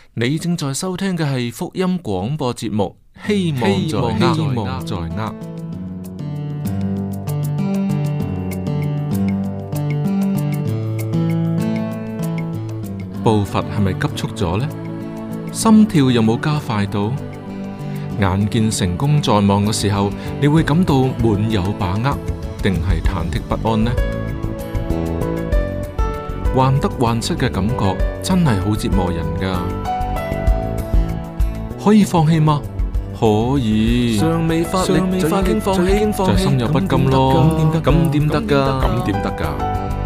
你正在收聽嘅係福音廣播節目，希望在握。步伐係咪急促咗呢？心跳有冇加快到？眼見成功在望嘅時候，你會感到滿有把握，定係忐忑不安呢？患得患失嘅感覺真係好折磨人噶。可以放棄嗎？可以。尚未發力就已經放棄，就心有不甘咯。咁點得噶？咁點得噶？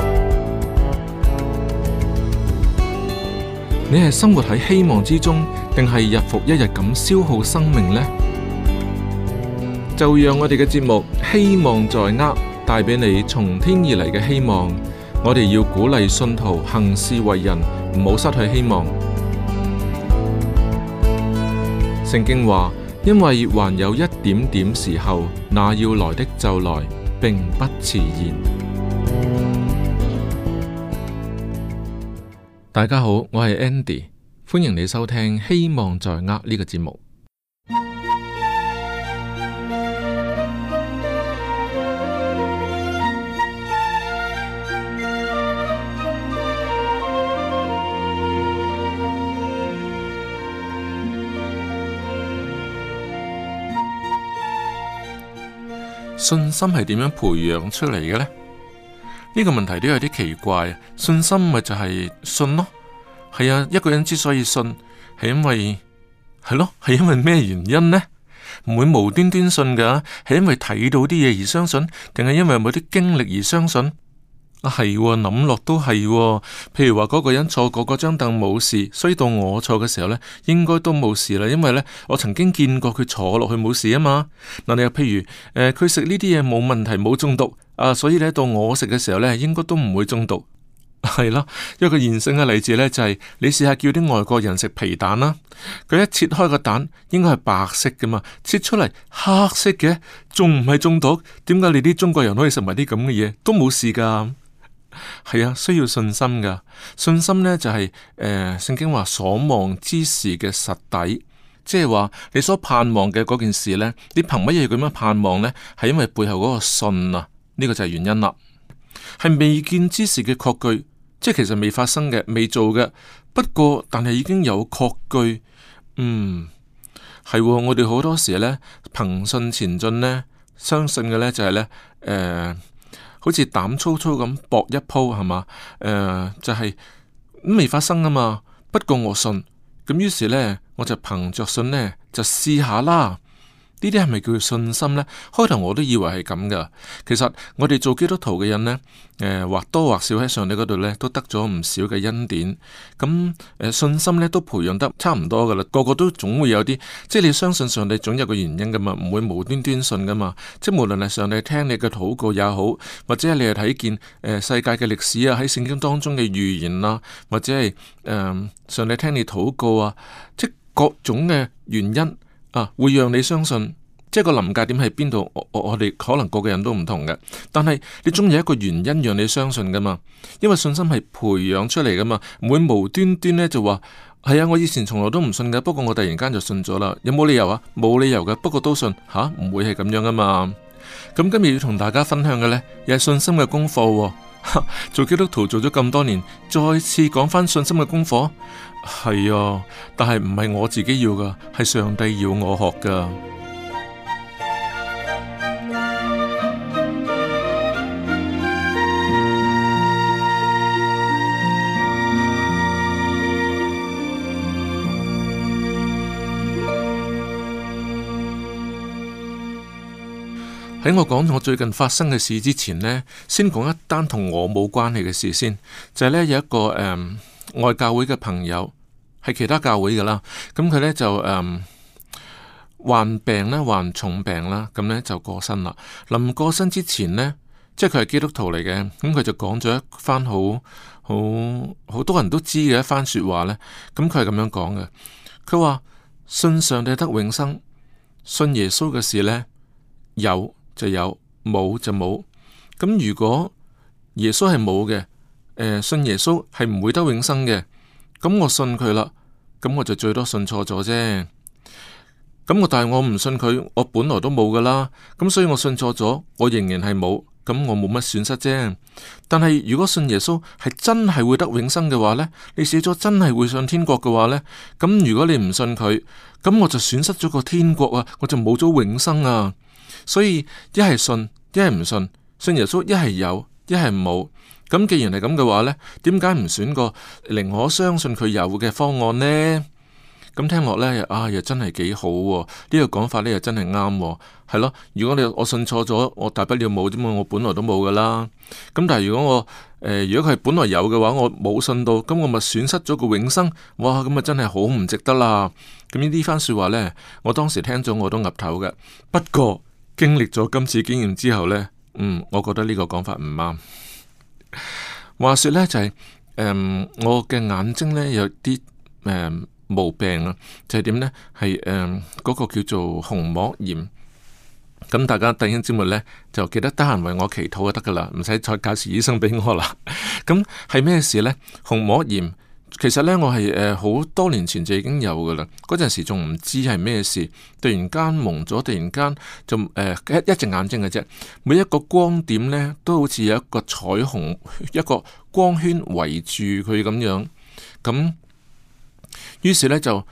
你係生活喺希望之中，定係日復一日咁消耗生命呢？就讓我哋嘅節目希望在握，帶俾你從天而嚟嘅希望。我哋要鼓勵信徒行事為人，唔好失去希望。聖經話，因為還有一點點時候，那要來的就來，並不遲延。大家好，我係 Andy，歡迎你收聽希望在握呢個節目。信心係點樣培養出嚟嘅呢？呢個問題都有啲奇怪。信心咪就係信咯，係啊。一個人之所以信，係因為咩原因呢？唔會無端端信噶，係因為睇到啲嘢而相信，定係因為有冇啲經歷而相信？係諗落都係。譬如話嗰個人坐過嗰張凳冇事，所以到我坐嘅時候呢，應該都冇事啦。因為呢，我曾經見過佢坐落去冇事啊嘛。嗱，你又譬如佢食呢啲嘢冇問題，冇中毒啊，所以呢，到我食嘅時候呢，應該都唔會中毒。係啦，一個現成嘅例子呢，就係你試下叫啲外國人食皮蛋啦，佢一切開個蛋應該係白色噶嘛，切出嚟黑色嘅，仲唔係中毒？點解你啲中國人可以食埋啲咁嘅嘢都冇事噶？係啊，需要信心噶。信心呢，就係聖經話所望之事嘅實底，即係話你所盼望嘅嗰件事呢，你憑乜嘢咁樣盼望呢？係因為背後嗰個信啊，呢個就係原因啦。係未見之事嘅確據，即係其實未發生嘅、未做嘅，不過但係已經有確據。係我哋好多時呢，憑信前進呢，相信嘅呢就係呢。好似膽粗粗咁搏一鋪係嘛？就係未發生啊嘛。不過我信，咁於是呢，我就憑着信呢，就試下啦。呢啲係咪叫做信心呢？開頭我都以為係咁噶。其實我哋做基督徒嘅人呢，或多或少喺上帝嗰度呢，都得咗唔少嘅恩典。咁信心呢，都培養得差唔多噶啦。個個都總會有啲，即係你相信上帝總有個原因噶嘛，唔會無端端信噶嘛。即係無論係上帝聽你嘅禱告也好，或者係你係睇見世界嘅歷史啊，喺聖經當中嘅預言啊，或者係上帝聽你禱告啊，即係各種嘅原因。會讓你相信，即係個臨界點喺邊度？我哋可能個個人都唔同嘅，但係你總有一個原因讓你相信噶嘛。因為信心係培養出嚟噶嘛，唔會無端端呢就話係啊，我以前從來都唔信嘅，不過我突然間就信咗啦。有冇理由啊？冇理由嘅，不過都信吓，唔會係咁樣噶嘛。咁今日要同大家分享嘅呢，又係信心嘅功課。做基督徒做咗咁多年，再次講翻信心嘅功課，係啊，但係唔係我自己要噶，係上帝要我學噶。喺我講我最近發生嘅事之前呢，先講一單同我冇關係嘅事先，就係呢，有一個外教會嘅朋友，係其他教會噶啦，咁佢呢就患病啦，患重病啦，咁呢就過身啦。臨過身之前呢，即係佢係基督徒嚟嘅，咁佢就講咗一番好多人都知嘅一番說話呢。咁佢係咁樣講嘅，佢話信上帝得永生，信耶穌嘅事呢，有就有，冇就冇。咁如果耶穌係冇嘅，信耶穌係唔會得永生嘅，咁我信佢啦。 咁我就最多信錯咗啫。咁但係我唔信佢，我本來都冇噶啦。咁所以我信錯咗，我仍然係冇。咁我冇乜損失啫。但係如果信耶穌係真係會得永生嘅話呢，你死咗真係會上天國嘅話呢，咁如果你唔信佢，咁我就損失咗個天國啊，我就冇咗永生啊。所以一係信，一係唔信。信耶穌一係有，一係冇。咁既然係咁嘅話呢，點解唔選個寧可相信佢有嘅方案呢？咁聽落呢，又真係幾好喎。呢個講法呢，又真係啱喎。係咯，如果我信錯咗，我大不了冇啫嘛，我本來都冇噶啦。咁但係如果佢係本來有嘅話，我冇信到，咁我咪損失咗個永生。哇，咁啊真係好唔值得啦。咁呢番說話呢，我當時聽咗我都岌頭嘅。不過經歷咗今次經驗之後呢，我覺得呢個講法唔啱。話說呢，就係我嘅眼睛呢，有啲毛病啊，就係點呢？係嗰個叫做虹膜炎。咁大家弟兄姊妹呢，就記得得閒為我祈禱就得噶啦，唔使再介紹醫生俾我啦。咁係咩事呢？虹膜炎其實呢，我係好多年前就已經有噶啦，嗰陣時仲唔知係咩事，突然間蒙咗，突然間就一隻眼睛嘅啫，每一個光點呢，都好似有一個彩虹，一個光圈圍住佢咁樣，咁。於是呢，就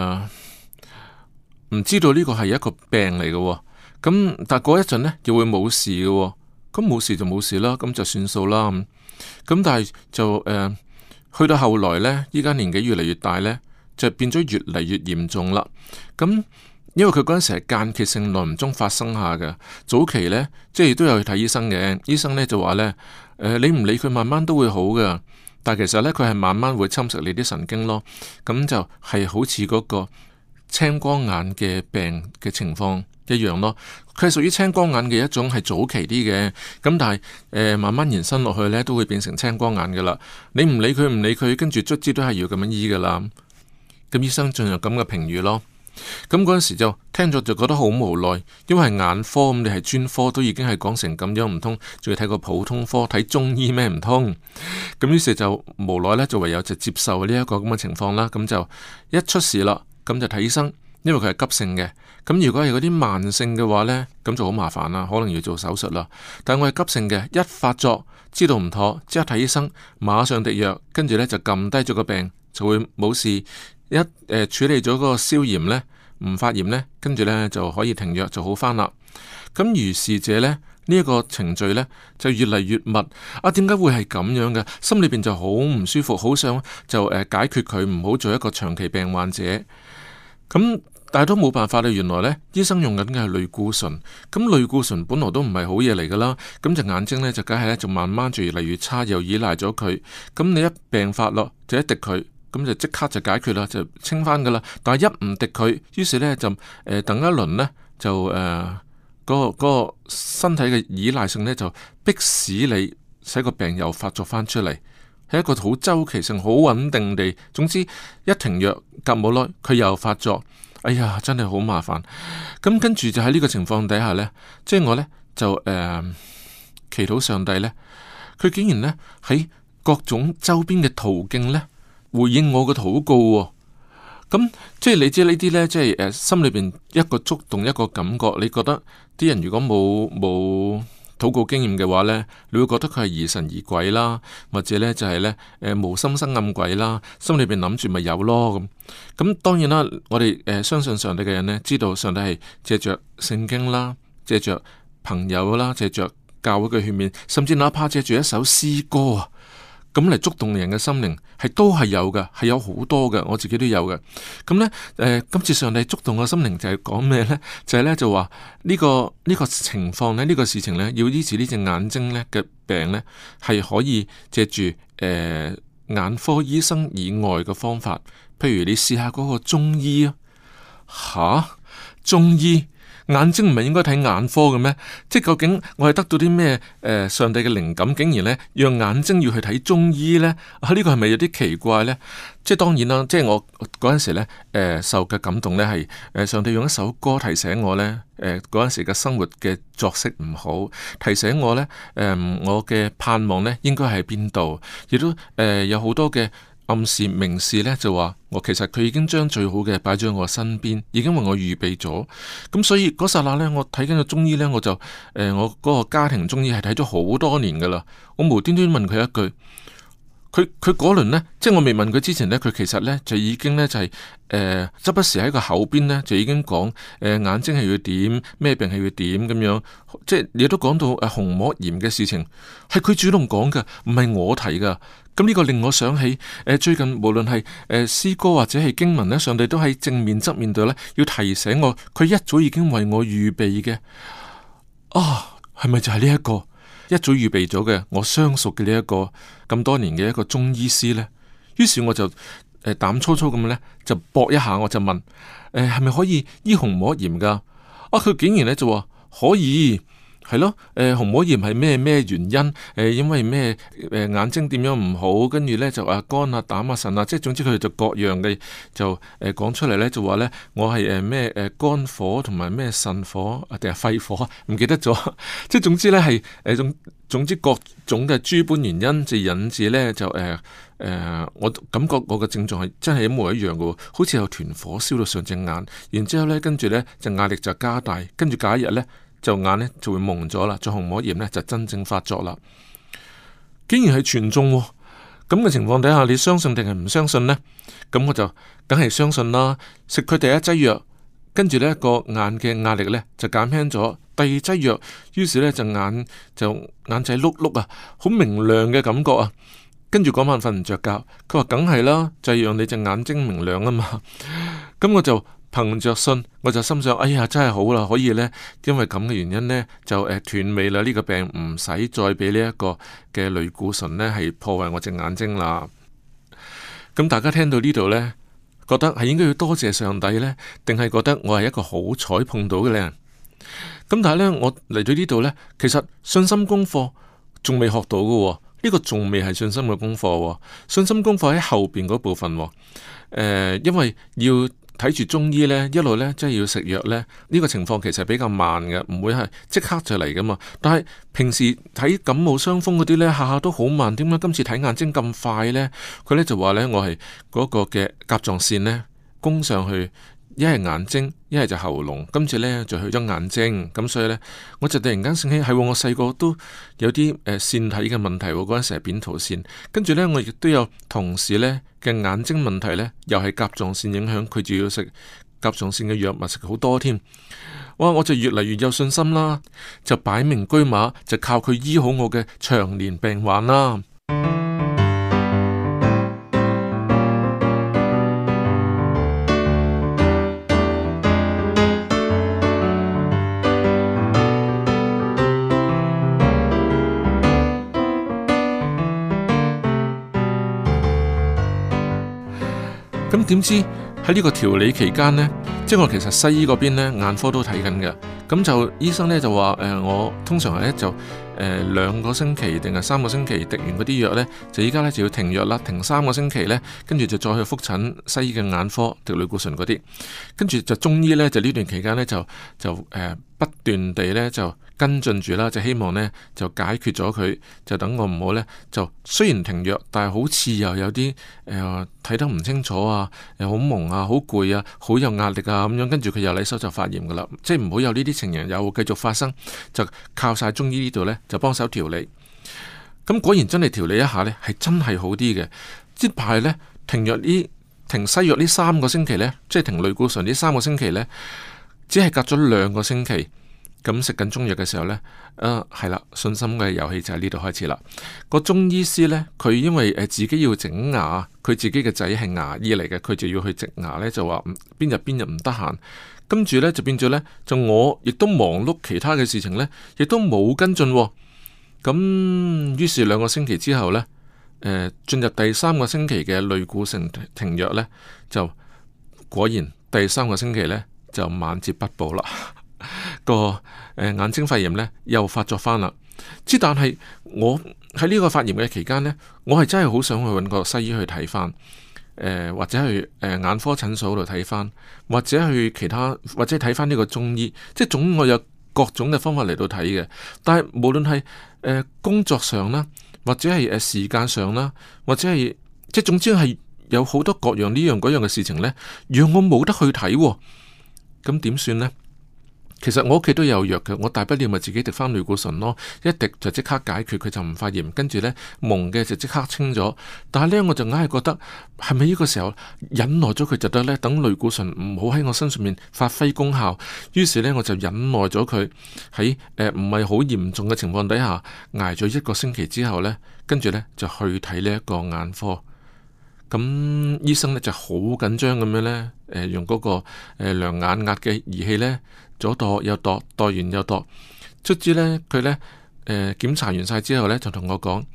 唔知道呢個係一個病嚟嘅。咁但係過一陣呢，又會冇事嘅。咁冇事就冇事啦，咁就算數啦。咁但係就去到後來呢，依家年紀越嚟越大呢，就變咗越嚟越嚴重啦。咁因為佢嗰陣時係間歇性耐唔中發生下嘅，早期呢，即係都有去睇醫生嘅。醫生呢就話呢，你唔理佢，慢慢都會好嘅。但其實呢，佢係慢慢會侵蝕你啲神經咯，咁就係好似嗰個青光眼嘅病嘅情況一樣咯。佢係屬於青光眼嘅一種，係早期啲嘅，咁但係慢慢延伸落去呢，都會變成青光眼噶啦。你唔理佢，唔理佢，跟住卒之都係要咁樣醫噶啦。咁醫生進入咁嘅評語咯。咁嗰陣時就聽咗就覺得好無奈，因為係眼科，咁你係專科都已經係講成咁樣，唔通仲要睇個普通科睇中醫咩？唔通？咁於是就無奈呢，就唯有就接受呢一個咁嘅情況啦。咁就一出事啦，咁就睇醫生，因為佢係急性嘅。咁如果係嗰啲慢性嘅話呢，咁就好麻煩啦，可能要做手術啦。但我係急性嘅，一發作知道唔妥，即刻睇醫生，馬上滴藥，跟住呢就撳低咗個病，就會冇事。一處理咗嗰個消炎呢，唔發炎呢，跟住呢就可以停藥就好返啦。咁如是者呢，呢一個程序呢就越嚟越密。點解會係咁樣嘅？心裏邊就好唔舒服，好想就解決佢，唔好做一個長期病患者。咁但係都冇辦法啦。原來呢，醫生用緊嘅係類固醇。咁類固醇本來都唔係好嘢嚟噶啦。咁隻眼睛呢，就梗係呢，就慢慢就越嚟越差，又依賴咗佢。咁你一病發咯，就一滴佢。咁就即刻就解決啦，就清翻噶啦。但係一唔滴佢，於是呢，就等一輪呢，就嗰個身體嘅依賴性呢，就迫使你使個病又發作翻出嚟，係一個好周期性、好穩定地。總之一停藥，隔冇耐佢又發作。哎呀，真係好麻煩。咁跟住就喺呢個情況底下呢，即係我呢，就祈禱上帝呢，佢竟然呢，喺各種周邊嘅途徑呢，回應我嘅禱告喎。咁即係你知呢啲呢，即係心裏邊一個觸動，一個感覺。你覺得啲人如果冇禱告經驗嘅話呢，你會覺得佢係疑神疑鬼啦，或者呢就係呢無心生暗鬼啦，心裏邊諗住咪有咯咁。咁當然啦，我哋相信上帝嘅人呢，知道上帝係借着聖經啦，借着朋友啦，借着教會嘅勸勉，甚至哪怕借住一首詩歌啊，咁嚟觸動人嘅心靈，都係有嘅，係有好多嘅，我自己都有嘅。咁呢，今次上帝觸動我心靈就係講咩呢？就係呢，就話呢個情況呢，呢個事情呢，要醫治呢隻眼睛呢嘅病呢，係可以借住眼科醫生以外嘅方法，譬如你試下嗰個中醫啊，中醫。眼睛唔係應該睇眼科嘅咩？即係究竟我係得到啲咩上帝嘅靈感，竟然呢讓眼睛要去睇中醫呢？呢個係咪有啲奇怪呢？即係當然啦，即係我嗰陣時呢受嘅感動呢係上帝用一首歌提醒我呢，嗰陣時嘅生活嘅作息唔好，提醒我呢，我嘅盼望呢應該喺邊度，亦都有好多嘅暗示明示呢，就話我其實佢已經將最好嘅擺咗喺我身邊，已經為我預備咗。咁所以嗰剎那呢，我睇緊個中醫呢，我就我嗰個家庭中醫係睇咗好多年噶啦。我無端端問佢一句，佢嗰輪呢，即係我未問佢之前呢，佢其實呢就已經呢，就係時不時喺個口邊呢，就已經講眼睛係要點，咩病係要點咁樣，即係亦都講到紅膜炎嘅事情，係佢主動講噶，唔係我提噶。咁呢個令我想起最近無論係詩歌或者係經文呢，上帝都喺正面側面度呢，要提醒我，佢一早已經為我預備嘅。係咪就係呢一個一早預備咗嘅我相熟嘅呢一個咁多年嘅一個中醫師呢？於是我就膽粗粗咁呢，就搏一下，我就問係咪可以醫紅膜炎噶？佢竟然呢就話可以。係咯，紅膜炎係咩原因？因為咩眼睛點樣唔好，跟住呢就肝啊、膽啊、腎啊，即係總之佢哋就各樣嘅就講出嚟呢，就話呢我係咩肝火同埋咩腎火定係肺火，唔記得咗。即係總之呢係總之各種嘅諸般原因就引致呢，就我感覺我嘅症狀係真係一模一樣嘅，好似有團火燒到上隻眼，然之後呢跟住呢就壓力就加大，跟住隔一日呢。就眼呢就會蒙咗啦，就紅膜炎呢就真正發作啦。竟然係全中咁嘅情況底下，你相信定係唔相信呢？咁我就梗係相信啦。食佢第一劑藥，跟住呢個眼嘅壓力呢就減輕咗。第二劑藥，於是呢就眼仔碌碌啊，好明亮嘅感覺啊。跟住嗰晚瞓唔着覺，佢話梗係啦，就係讓你隻眼睛明亮啊嘛。咁我就憑着信，我就心想，哎呀，真係好啦，可以呢，因為咁嘅原因呢，就斷尾啦。呢個病唔使再俾呢一個嘅類固醇呢係破壞我隻眼睛啦。咁大家聽到呢度呢，覺得係應該要多謝上帝呢，定係覺得我係一個好彩碰到嘅呢？咁但係呢，我嚟到呢度呢，其實信心功課仲未學到嘅，呢個仲未係信心嘅功課。信心功課喺後邊嗰部分，因為要睇住中醫呢，一路呢，即係要食藥呢。呢個情況其實比較慢嘅，唔會係即刻就嚟噶嘛。但係平時睇感冒傷風嗰啲呢，下下都好慢。點解今次睇眼睛咁快呢？佢呢就話呢，我係嗰個嘅甲狀腺呢攻上去，一係眼睛，一係就喉嚨。今次呢就去咗眼睛，咁所以呢，我就突然間醒起，係我細個都有啲腺體嘅問題，嗰陣時係扁桃腺。跟住呢，我亦都有同事呢嘅眼睛問題呢，又係甲狀腺影響，佢就要食甲狀腺嘅藥物，食好多添。哇！我就越嚟越有信心啦，就擺明車馬，就靠佢醫好我嘅長年病患啦。咁點知喺呢個調理期間呢，即係我其實西醫嗰邊呢，眼科都睇緊嘅。咁就醫生呢就話我通常係就2個星期定係3個星期滴完嗰啲藥呢，就依家呢就要停藥啦，停3個星期呢，跟住就再去復診西醫嘅眼科滴類固醇嗰啲，跟住就中醫呢，就呢段期間呢，就不斷地呢就跟進住啦，就希望呢就解決咗佢，就等我唔好呢，就雖然停藥，但係好似又有啲睇得唔清楚啊，又好蒙啊，好攰啊，好有壓力啊咁樣，跟住佢又嚟手就發炎噶啦，即係唔好有呢啲情形又繼續發生，就靠晒中醫呢度呢，就幫手調理。咁果然真係調理一下呢，係真係好啲嘅。即係呢，停西藥呢3個星期呢，即係停類固醇呢3個星期呢，只係隔咗2個星期。咁食緊中藥嘅時候呢，係啦，信心嘅遊戲就喺呢度開始啦。個中醫師呢，佢因為自己要整牙，佢自己嘅仔係牙醫嚟嘅，佢就要去植牙呢，就話邊日唔得閒，跟住呢，就變咗呢，就我亦都忙碌其他嘅事情呢，亦都冇跟進。咁於是2個星期之後呢，進入第3個星期嘅類固醇停藥呢，就果然第3個星期呢，就晚節不保啦。個眼睛肺炎呢又發作翻啦，但係我喺呢個發炎嘅期間呢，我係真係好想去揾個西醫去睇翻，或者去眼科診所度睇翻，或者去其他，或者睇翻呢個中醫，即係總我有各種嘅方法嚟到睇嘅。但係無論係工作上啦，或者係時間上啦，或者係即係總之係有好多各樣呢樣嗰樣嘅事情呢，讓我冇得去睇喎。咁點算呢？其實我屋企都有藥嘅，我大不了咪自己滴翻類固醇咯，一滴就即刻解決，佢就唔發炎，跟住呢，蒙嘅就即刻清咗。但係呢，我就硬係覺得係咪呢個時候忍耐咗佢就得呢？等類固醇唔好喺我身上面發揮功效，於是呢，我就忍耐咗佢喺唔係好嚴重嘅情況底下挨咗1個星期之後呢，跟住呢，就去睇呢一個眼科。咁醫生呢就好緊張咁樣呢，用嗰個量眼壓嘅儀器呢，左度右度，度完又度，卒之呢，佢呢檢查完晒之後呢，就同我講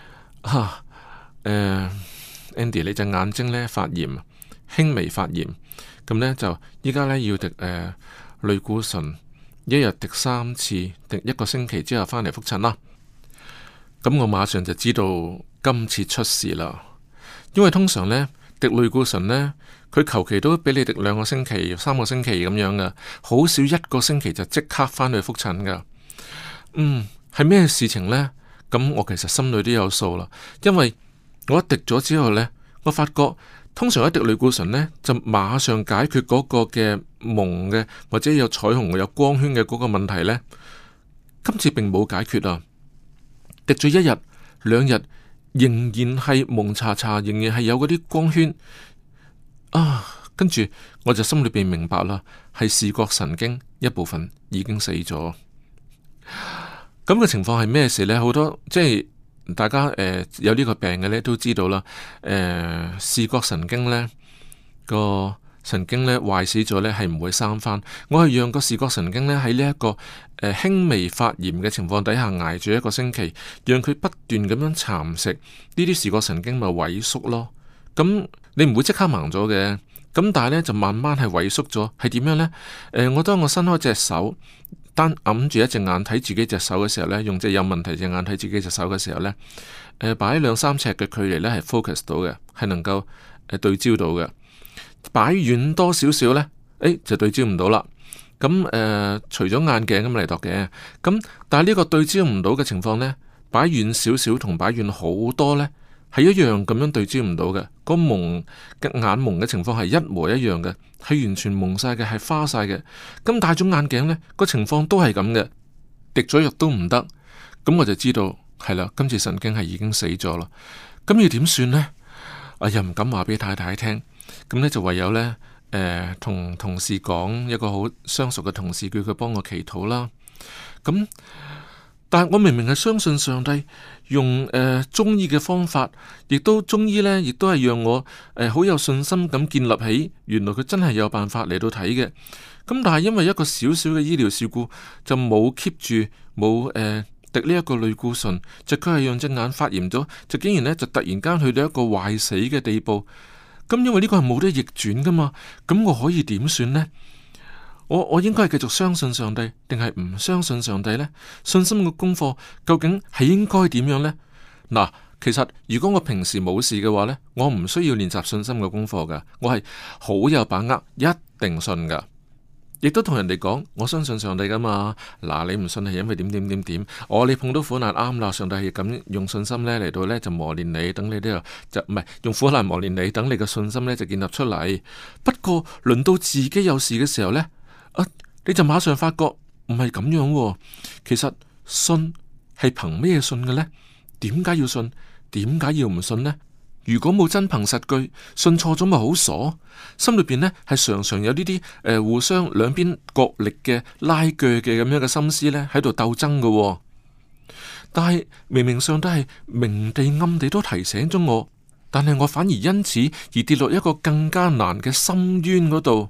Andy 你隻眼睛呢發炎，輕微發炎，咁呢，就依家呢要滴類固醇，1日滴3次，滴1個星期之後返嚟復診啦。咁我馬上就知道今次出事啦。因為通常呢，滴類固醇呢，佢求其都俾你滴2個星期、3個星期咁樣噶，好少1個星期就即刻返去復診噶。係咩事情呢？咁我其實心裏都有數啦。因為我一滴咗之後呢，我發覺通常一滴類固醇呢，就馬上解決嗰個嘅蒙嘅或者有彩虹有光圈嘅嗰個問題呢。今次並冇解決啊！滴咗1日、2日。仍然係蒙查查，仍然係有嗰啲光圈跟住我就心裏邊明白啦，係視覺神經一部分已經死咗。咁嘅情況係咩事呢？好多即係大家有呢個病嘅呢都知道啦。視覺神經呢個神經呢壞死咗呢係唔會生翻。我係讓個視覺神經呢喺呢一個輕微發炎嘅情況底下挨住1個星期，讓佢不斷咁樣蠶食呢啲視覺神經咪萎縮咯。咁你唔會即刻盲咗嘅，咁但係呢就慢慢係萎縮咗。係點樣呢？當我伸開隻手，單揞住一隻眼睇自己隻手嘅時候呢，用隻有問題隻眼睇自己隻手嘅時候呢，擺2-3尺嘅距離呢係 focus 到嘅，係能夠對焦到嘅。擺遠多少少呢，就對焦唔到啦。咁除咗眼鏡咁嚟度嘅，咁但係呢個對焦唔到嘅情況呢，擺遠少少同擺遠好多呢，係一樣咁樣對焦唔到嘅。個蒙嘅眼蒙嘅情況係一模一樣嘅，係完全蒙晒嘅，係花晒嘅。咁戴咗眼鏡呢，個情況都係咁嘅，滴咗藥都唔得。咁我就知道係啦，今次神經係已經死咗啦。咁要點算呢？又唔敢話俾太太聽。咁呢就唯有呢，同同事講，一個好相熟嘅同事叫佢幫我祈禱啦。咁，但係我明明係相信上帝用中醫嘅方法，亦都中醫呢，亦都係讓我好有信心咁建立起，原來佢真係有辦法嚟到睇嘅。咁但係因為一個小小嘅醫療事故，就冇 keep 住，冇滴呢一個類固醇，就佢係讓隻眼發炎咗，就竟然呢，就突然間去到一個壞死嘅地步。咁因為呢個係冇得逆轉噶嘛，咁我可以點算呢？我應該係繼續相信上帝，定係唔相信上帝呢？信心嘅功課究竟係應該點樣呢？嗱，其實如果我平時冇事嘅話呢，我唔需要練習信心嘅功課噶，我係好有把握，一定信噶。亦都同人哋講，我相信上帝噶嘛。嗱，你唔信係因為點點點點。你碰到苦難啱啦，上帝係咁用信心呢嚟到呢，就磨練你，等你呢度就唔係用苦難磨練你，等你嘅信心呢就建立出嚟。不過輪到自己有事嘅時候呢，你就馬上發覺唔係咁樣喎。其實信係憑咩信嘅呢？點解要信？點解要唔信呢？如果冇真憑實據，信錯咗咪好傻？心裏邊呢係常常有呢啲互相兩邊角力嘅拉鋸嘅咁樣嘅心思呢喺度鬥爭嘅喎。但係明明上帝係明地暗地都提醒咗我，但係我反而因此而跌落一個更加難嘅深淵嗰度。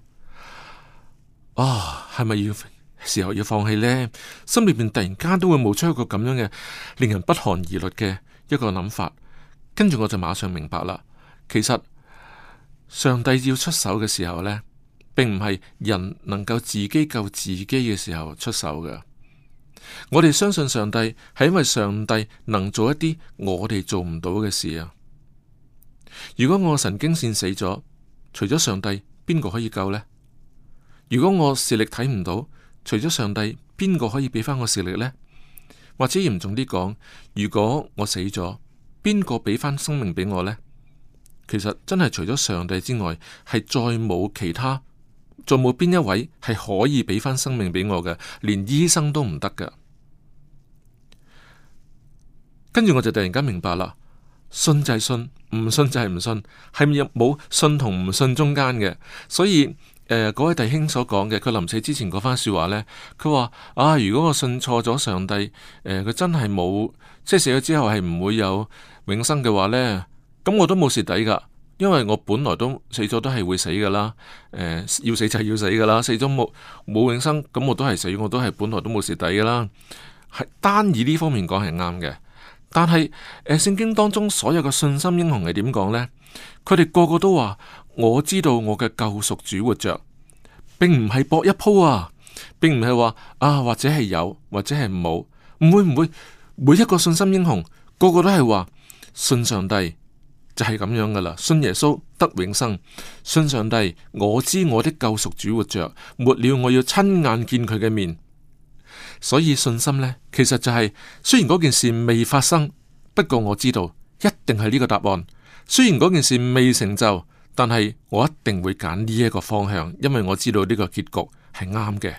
係咪要時候要放棄呢？心裏邊突然間都會冒出一個咁樣嘅令人不寒而栗嘅一個諗法。跟住我就馬上明白啦，其實上帝要出手嘅時候呢，並唔係人能夠自己救自己嘅時候出手嘅。我哋相信上帝係因為上帝能做一啲我哋做唔到嘅事啊。如果我神經線死咗，除咗上帝，邊個可以救呢？如果我視力睇唔到，除咗上帝，邊個可以俾翻我視力呢？或者嚴重啲講，如果我死咗，邊個俾翻生命俾我呢？ 其實真係除咗上帝之外，係再冇其他，再冇邊一位係可以俾翻生命俾我嘅，連醫生都唔得㗎。跟住我就突然間明白啦，信就係信，唔信就係唔信，係冇信同唔信中間嘅。所以嗰位弟兄所講嘅，佢臨死之前嗰番說話呢，佢話啊，如果我信錯咗上帝，佢真係冇，即係死咗之後係唔會有永生嘅話呢，咁我都冇蝕底噶，因為我本來都死咗都係會死噶啦，要死就係要死噶啦，死咗冇永生，咁我都係死，我都係本來都冇蝕底噶啦，係單以呢方面講係啱嘅。但係聖經當中所有嘅信心英雄係點講呢？佢哋個個都話我知道我嘅救贖主活着，並唔係搏一鋪啊，並唔係話啊或者係有或者係冇，唔會每一個信心英雄個個都係話信上帝就係咁樣噶啦，信耶穌得永生，信上帝我知我的救贖主活着，末了我要親眼見佢嘅面。所以信心呢，其實就係雖然嗰件事未發生，不過我知道一定係呢個答案。雖然嗰件事未成就，但係我一定會揀呢一個方向，因為我知道呢個結局係啱嘅。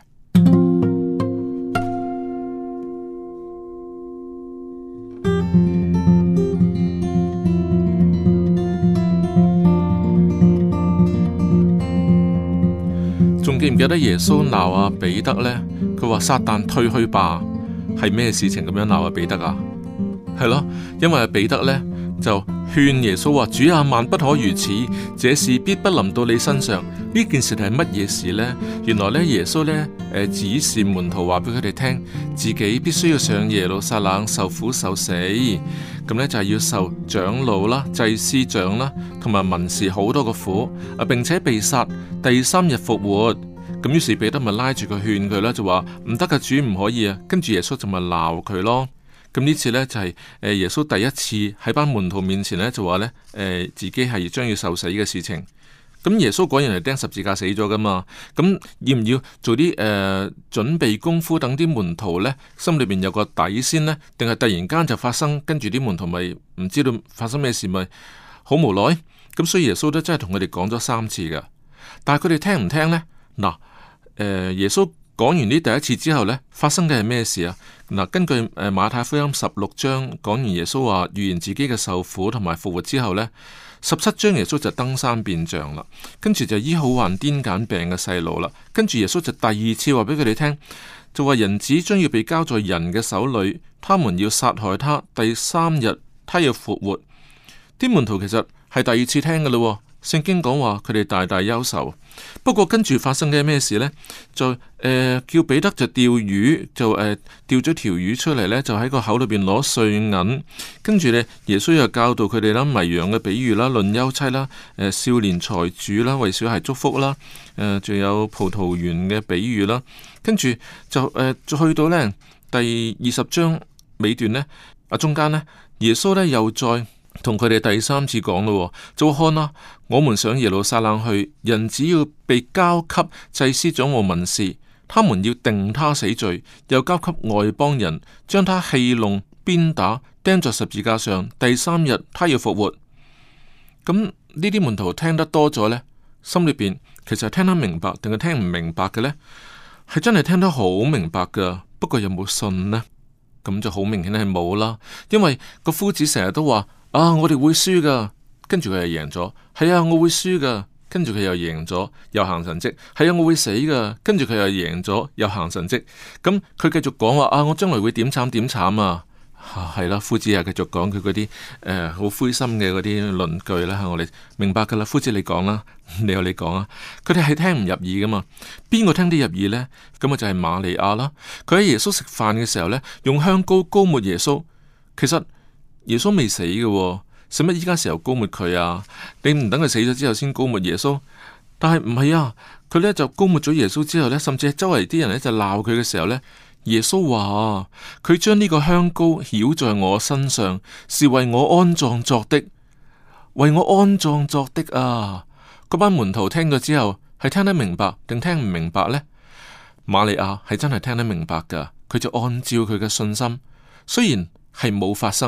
仲記唔記得耶穌鬧阿彼得呢？佢話撒旦退去吧，係咩事情咁樣鬧阿彼得啊？係咯，因為阿彼得呢就勸耶穌話：主啊，萬不可如此，這事必不臨到你身上。呢件事係乜嘢事呢？原來呢，耶穌呢指示門徒話俾佢哋聽，自己必須要上耶路撒冷受苦受死，咁呢就係要受長老啦、祭司長啦同埋文士好多個苦，並且被殺，第三日復活。咁於是彼得咪拉住佢勸佢啦，就話唔得嘅，主唔可以啊。跟住耶穌就咪鬧佢咯。咁呢次呢，就係耶穌第一次喺班門徒面前呢，就話呢自己係將要受死嘅事情。咁耶穌果然係釘十字架死咗噶嘛。咁要唔要做啲準備功夫，等啲門徒呢心裏邊有個底先呢？定係突然間就發生，跟住啲門徒咪唔知道發生咩事，咪好無奈。咁所以耶穌都真係同佢哋講咗3次噶，但係佢哋聽唔聽呢？嗱，耶穌講完呢第一次之後呢，發生嘅係咩事啊？嗱，根據馬太福音16章講完耶穌話預言自己嘅受苦同埋復活之後呢，17章耶穌就登山變像啦，跟住就醫好患癲癇病嘅細路啦，跟住耶穌就第2次話俾佢哋聽，就話人子將要被交在人嘅手裏，他們要殺害他，第3日他要復活。啲門徒其實係第2次聽噶啦，聖經講話佢哋大大憂愁。不過跟住發生嘅咩事呢？就叫彼得就釣魚，就釣咗條魚出嚟呢，就喺個口裏邊攞碎銀。跟住呢，耶穌又教導佢哋啦，迷羊嘅比喻啦，論休妻啦，少年財主啦，為小孩祝福啦，仲有葡萄園嘅比喻啦。跟住就去到呢第20章尾段呢，中間呢，耶穌呢又再同佢哋第3次講咯，就看啦，我們上耶路撒冷去，人只要被交給祭司長和文士，他們要定他死罪，又交給外邦人，將他戲弄、鞭打、釘在十字架上，第3日他要復活。咁呢啲門徒聽得多咗呢，心裏邊其實係聽得明白定係聽唔明白嘅呢？係真係聽得好明白噶，不過有冇信呢？咁就好明顯係冇啦，因為個夫子成日都話。我哋會輸噶，跟住佢又贏咗。係啊，我會輸噶，跟住佢又贏咗，又行神蹟。係啊，我會死噶，跟住佢又贏咗，又行神蹟。咁佢繼續講話我將來會點慘點慘啊！係啦，夫子又繼續講佢嗰啲好灰心嘅嗰啲論據啦。我哋明白噶啦，夫子你講啦，你有你講啊。佢哋係聽唔入耳噶嘛？邊個聽得入耳呢？咁就係瑪利亞啦。佢喺耶穌食飯嘅時候呢，用香膏膏抹耶穌。其實耶穌未死嘅，使乜依家時候膏抹佢啊？你唔等佢死咗之後先膏抹耶穌？但係唔係啊，佢呢就膏抹咗耶穌之後呢，甚至係周圍啲人呢就鬧佢嘅時候呢，耶穌話佢將呢個香膏曉在我身上，是為我安葬作的，為我安葬作的啊！嗰班門徒聽咗之後係聽得明白定聽唔明白呢？瑪利亞係真係聽得明白噶，佢就按照佢嘅信心，雖然係冇發生，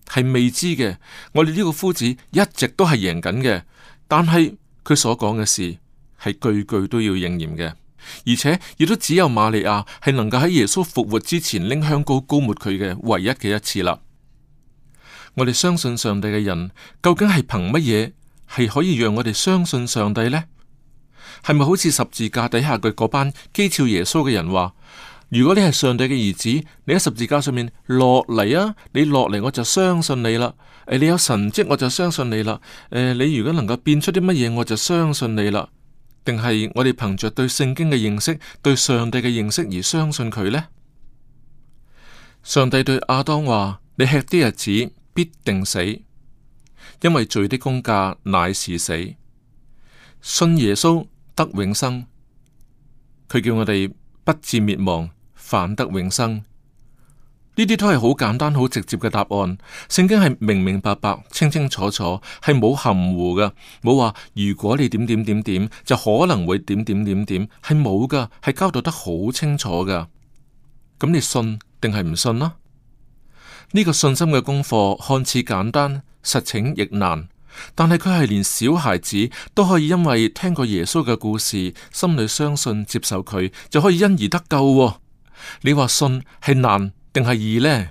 係未知嘅。我哋呢個夫子一直都係贏緊嘅，但係佢所講嘅事係句句都要應驗嘅，而且亦都只有瑪利亞係能夠喺耶穌復活之前拎香膏膏抹佢嘅唯一嘅一次啦。我哋相信上帝嘅人，究竟係憑乜嘢係可以讓我哋相信上帝呢？係咪好似十字架底下嘅嗰班譏誚耶穌嘅人話：如果你係上帝嘅兒子，你喺十字架上面落嚟啊！你落嚟我就相信你啦。你有神蹟我就相信你啦。你如果能夠變出啲乜嘢，我就相信你啦。定係我哋憑着對聖經嘅認識、對上帝嘅認識而相信佢呢？上帝對亞當話：你吃啲日子必定死，因為罪的工價乃是死。信耶穌得永生，佢叫我哋不至滅亡，反得永生。呢啲都係好簡單、好直接嘅答案。聖經係明明白白、清清楚楚，係冇含糊噶，冇話如果你點點點點就可能會點點點點，係冇噶，係交代得好清楚噶。咁你信定係唔信啦？呢個信心嘅功課看似簡單，實情亦難。但係佢係連小孩子都可以因為聽過耶穌嘅故事，心裏相信接受佢，就可以因而得救喎。你話信係難定係易呢？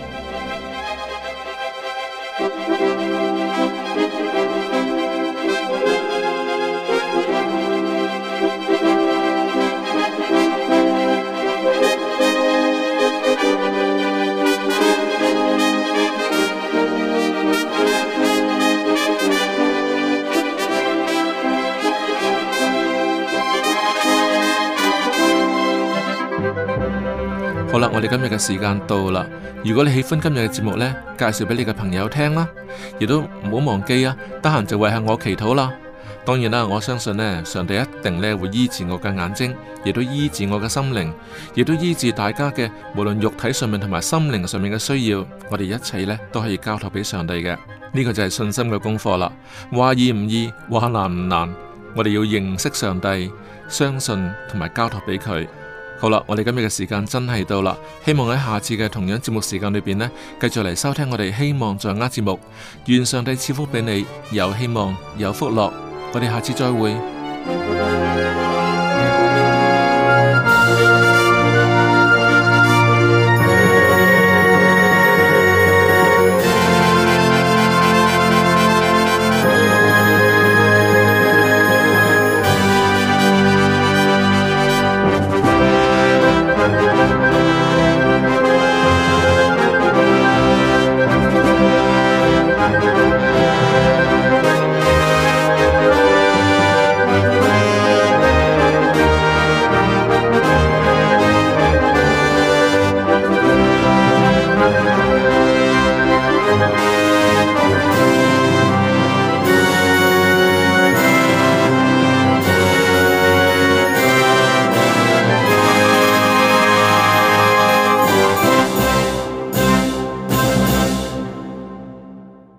好啦，我哋今日嘅時間到啦。如果你喜歡今日嘅節目呢，介紹俾你嘅朋友聽啦，亦都唔好忘記啊，得閒就為下我祈禱啦。當然啦，我相信呢，上帝一定呢會醫治我嘅眼睛，亦都醫治我嘅心靈，亦都醫治大家嘅無論肉體上面同埋心靈上面嘅需要。我哋一切呢都可以交託俾上帝嘅。呢個就係信心嘅功課啦。話易唔易，話難唔難，我哋要認識上帝，相信同埋交託俾佢。好啦，我哋今日嘅時間真係到啦，希望喺下次嘅同樣節目時間裏邊呢，繼續嚟收聽我哋希望在握節目。願上帝賜福俾你，有希望，有福樂。我哋下次再會。